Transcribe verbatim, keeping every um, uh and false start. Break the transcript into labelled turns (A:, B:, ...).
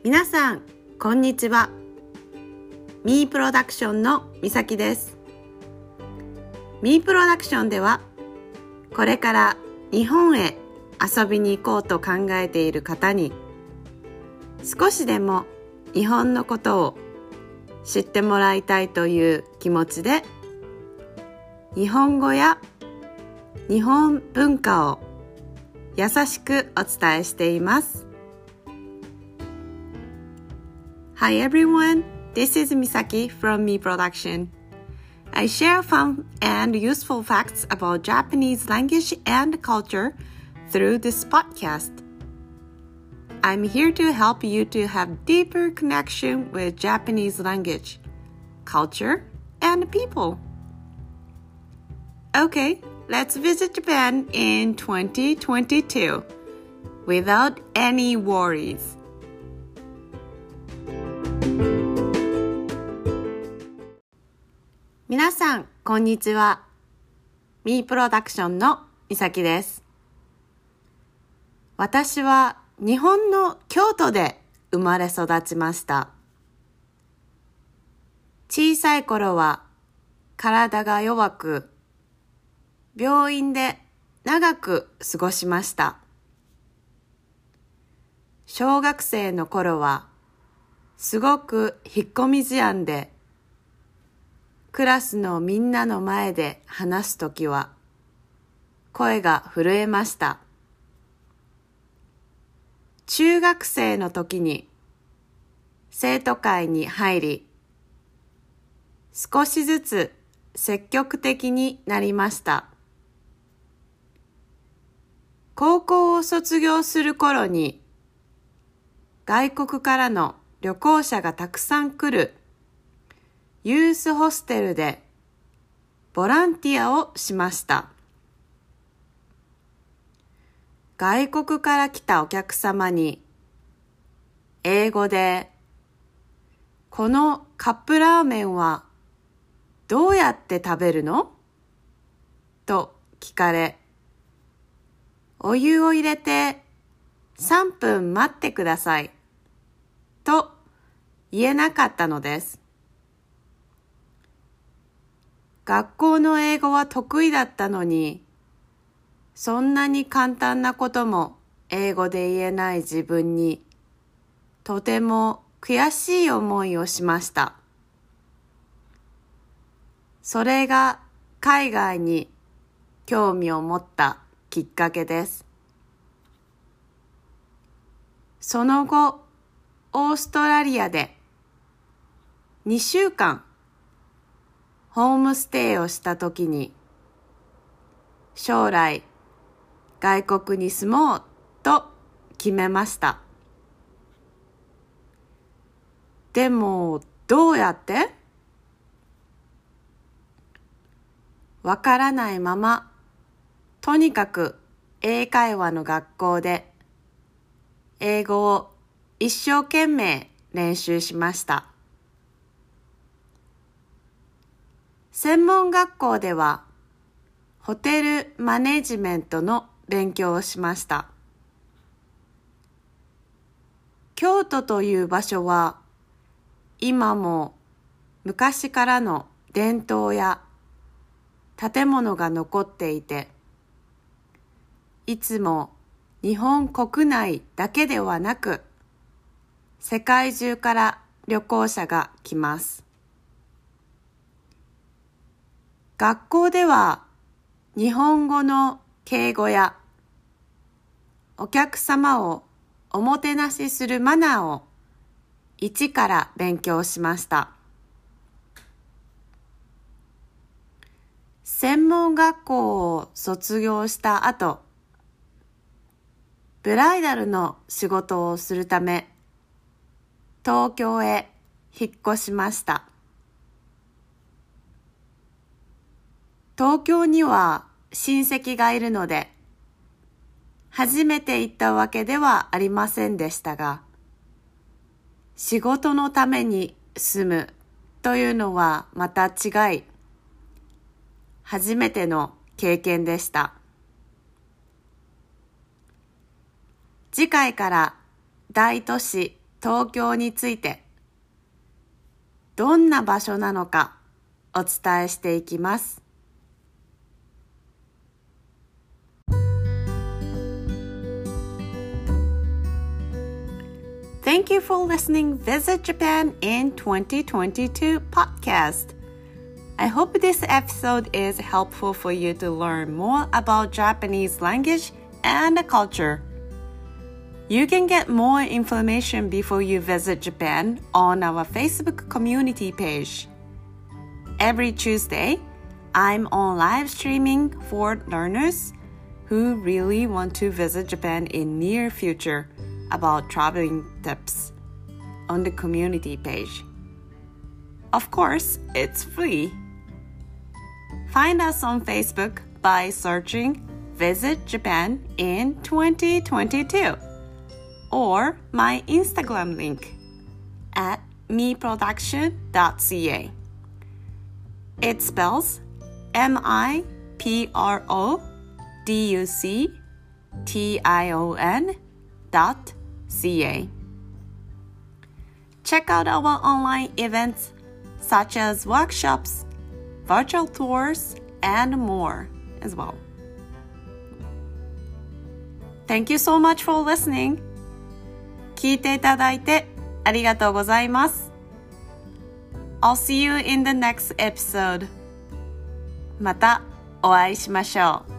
A: 皆さんこんにちは。ミープロダクションのみさきです。ミープロダクションではこれから日本へ遊びに行こうと考えている方に少しでも日本のことを知ってもらいたいという気持ちで日本語や日本文化を優しくお伝えしています。Hi everyone, this is Misaki from Me Production. I share fun and useful facts about Japanese language and culture through this podcast. I'm here to help you to have deeper connection with Japanese language, culture, and people. Okay, let's visit Japan in twenty twenty-two without any worries. 皆さんこんにちは。ミープロダクションのみさきです。私は日本の京都で生まれ育ちました。小さい頃は体が弱く、病院で長く過ごしました。小学生の頃はすごく引っ込み思案で、クラスのみんなの前で話すときは声が震えました。中学生の時に生徒会に入り、少しずつ積極的になりました。高校を卒業する頃に外国からの旅行者がたくさん来るユースホステルでボランティアをしました。外国から来たお客様に英語でこのカップラーメンはどうやって食べるの？と聞かれ、お湯を入れてさんぷん待ってくださいと言えなかったのです。学校の英語は得意だったのに、そんなに簡単なことも英語で言えない自分に、とても悔しい思いをしました。それが海外に興味を持ったきっかけです。その後、オーストラリアでにしゅうかんホームステイをしたときに、将来外国に住もうと決めました。でもどうやって？わからないまま、とにかく英会話の学校で英語を一生懸命練習しました。専門学校ではホテルマネジメントの勉強をしました。京都という場所は今も昔からの伝統や建物が残っていて、いつも日本国内だけではなく世界中から旅行者が来ます。学校では日本語の敬語やお客様をおもてなしするマナーを一から勉強しました。専門学校を卒業した後、ブライダルの仕事をするため東京へ引っ越しました。東京には親戚がいるので、初めて行ったわけではありませんでしたが、仕事のために住むというのはまた違い、初めての経験でした。次回から大都市東京についてどんな場所なのかお伝えしていきます。Thank you for listening Visit Japan in twenty twenty-two podcast. I hope this episode is helpful for you to learn more about Japanese language and culture. You can get more information before you visit Japan on our Facebook community page. Every Tuesday, I'm on live streaming for learners who really want to visit Japan in near future about traveling tips on the community page. Of course, it's free. Find us on Facebook by searching Visit Japan in twenty twenty-two or my Instagram link at me production dot c a. It spells M I P R O D U C T I O N dot C A. Check out our online events such as workshops, virtual tours, and more as well. Thank you so much for listening. 聞いていただいてありがとうございます。I'll see you in the next episode. またお会いしましょう。